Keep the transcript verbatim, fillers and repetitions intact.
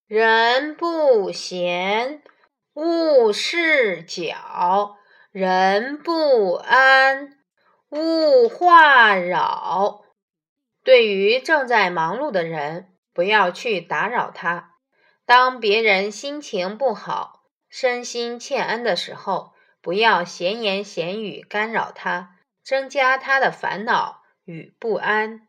人不闲，勿事搅；人不安，勿话扰。对于正在忙碌的人，不要去打扰他。当别人心情不好，身心欠安的时候，不要闲言闲语干扰他，增加他的烦恼与不安。